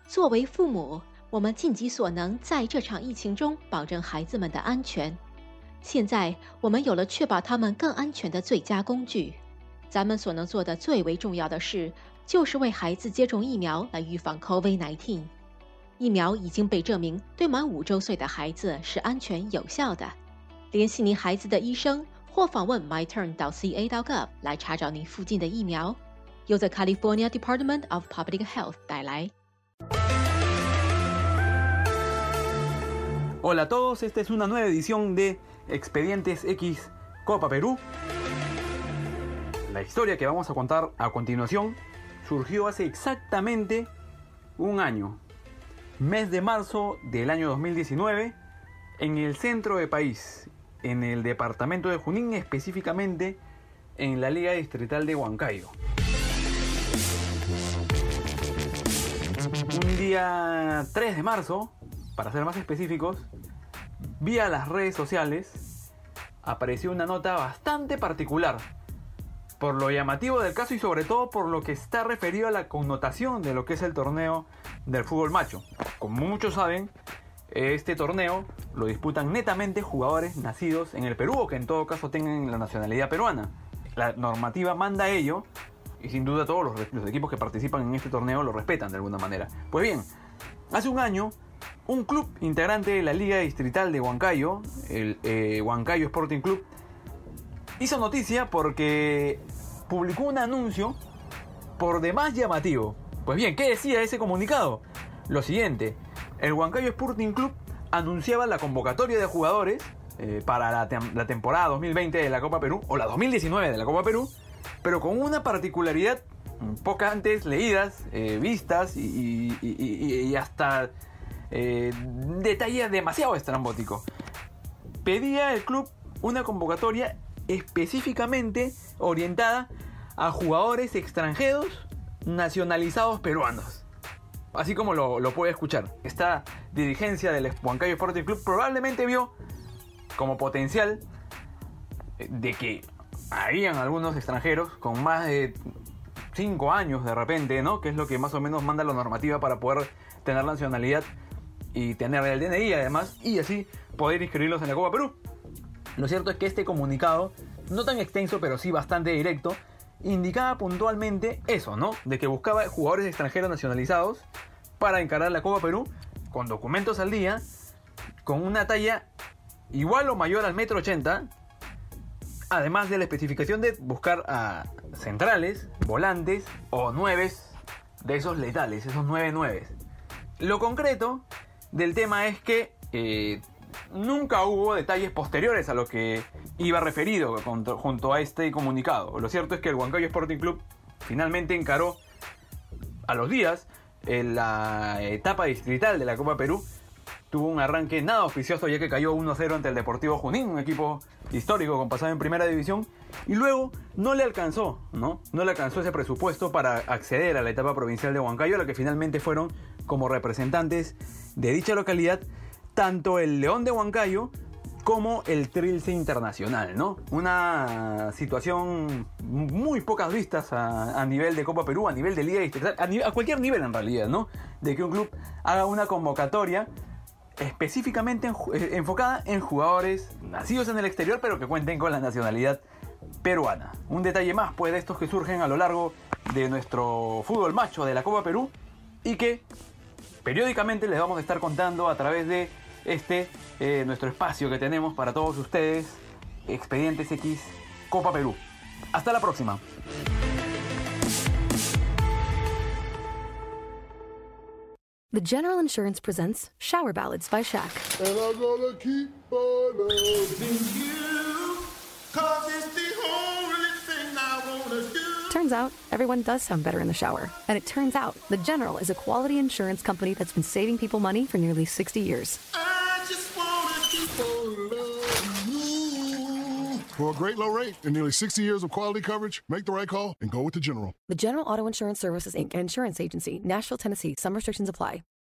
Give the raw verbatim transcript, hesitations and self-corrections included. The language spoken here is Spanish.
作为父母，我们尽己所能，在这场疫情中保证孩子们的安全。现在，我们有了确保他们更安全的最佳工具。咱们所能做的最为重要的事，就是为孩子接种疫苗来预防 COVID 十九。疫苗已经被证明对满五周岁的孩子是安全有效的。联系您孩子的医生，或访问 my turn 到 c a 到 gov 来查找您附近的疫苗。由 The California Department of Public Health 带来。 Hola a todos, esta es una nueva edición de Expedientes X Copa Perú. La historia que vamos a contar a continuación surgió hace exactamente un año, mes de marzo del año dos mil diecinueve, en el centro del país, en el departamento de Junín, específicamente en la Liga Distrital de Huancayo. Un día tres de marzo, para ser más específicos, vía las redes sociales apareció una nota bastante particular, por lo llamativo del caso y sobre todo por lo que está referido a la connotación de lo que es el torneo del fútbol macho. Como muchos saben, este torneo lo disputan netamente jugadores nacidos en el Perú o que en todo caso tengan la nacionalidad peruana. La normativa manda ello y sin duda todos los, los equipos que participan en este torneo lo respetan de alguna manera. Pues bien, hace un año, un club integrante de la Liga Distrital de Huancayo, el eh, Huancayo Sporting Club, hizo noticia porque publicó un anuncio por demás llamativo. Pues bien, ¿qué decía ese comunicado? Lo siguiente: el Huancayo Sporting Club anunciaba la convocatoria de jugadores eh, para la, tem la temporada dos mil veinte de la Copa Perú, o la dos mil diecinueve de la Copa Perú, pero con una particularidad pocas antes leídas, eh, vistas y, y, y, y hasta eh, detalles demasiado estrambóticos. Pedía el club una convocatoria específicamente orientada a jugadores extranjeros nacionalizados peruanos. Así como lo, lo puede escuchar. Esta dirigencia del Huancayo Sporting Club probablemente vio como potencial de que habían algunos extranjeros con más de cinco años de repente, ¿no? Que es lo que más o menos manda la normativa para poder tener la nacionalidad y tener el D N I además, y así poder inscribirlos en la Copa Perú. Lo cierto es que este comunicado, no tan extenso pero sí bastante directo, indicaba puntualmente eso, ¿no? De que buscaba jugadores extranjeros nacionalizados para encarar la Copa Perú con documentos al día, con una talla igual o mayor al metro ochenta, además de la especificación de buscar a centrales, volantes o nueves de esos letales, esos nueve nueves. Lo concreto del tema es que eh, nunca hubo detalles posteriores a lo que iba referido junto a este comunicado. Lo cierto es que el Huancayo Sporting Club finalmente encaró a los días en la etapa distrital de la Copa Perú. Tuvo un arranque nada auspicioso, ya que cayó uno a cero ante el Deportivo Junín, un equipo histórico con pasado en primera división, y luego no le alcanzó, ¿no? No le alcanzó ese presupuesto para acceder a la etapa provincial de Huancayo, a la que finalmente fueron como representantes de dicha localidad tanto el León de Huancayo como el Trilce Internacional, ¿no? Una situación muy pocas vistas a, a nivel de Copa Perú, a nivel de Liga Distrital, a, nivel, a cualquier nivel en realidad, ¿no? De que un club haga una convocatoria específicamente en, eh, enfocada en jugadores nacidos en el exterior pero que cuenten con la nacionalidad peruana. Un detalle más pues de estos que surgen a lo largo de nuestro fútbol macho de la Copa Perú y que periódicamente les vamos a estar contando a través de este eh, nuestro espacio que tenemos para todos ustedes, Expedientes X Copa Perú. Hasta la próxima. The General Insurance presents Shower Ballads by Shaq. And I'm gonna keep on loving you, 'cause it's the only thing I wanna do. Turns out, everyone does sound better in the shower. And it turns out, The General is a quality insurance company that's been saving people money for nearly sixty years. I just wanna keep on loving you. For a great low rate and nearly sixty years of quality coverage, make the right call and go with The General. The General Auto Insurance Services, Incorporated. Insurance Agency, Nashville, Tennessee. Some restrictions apply.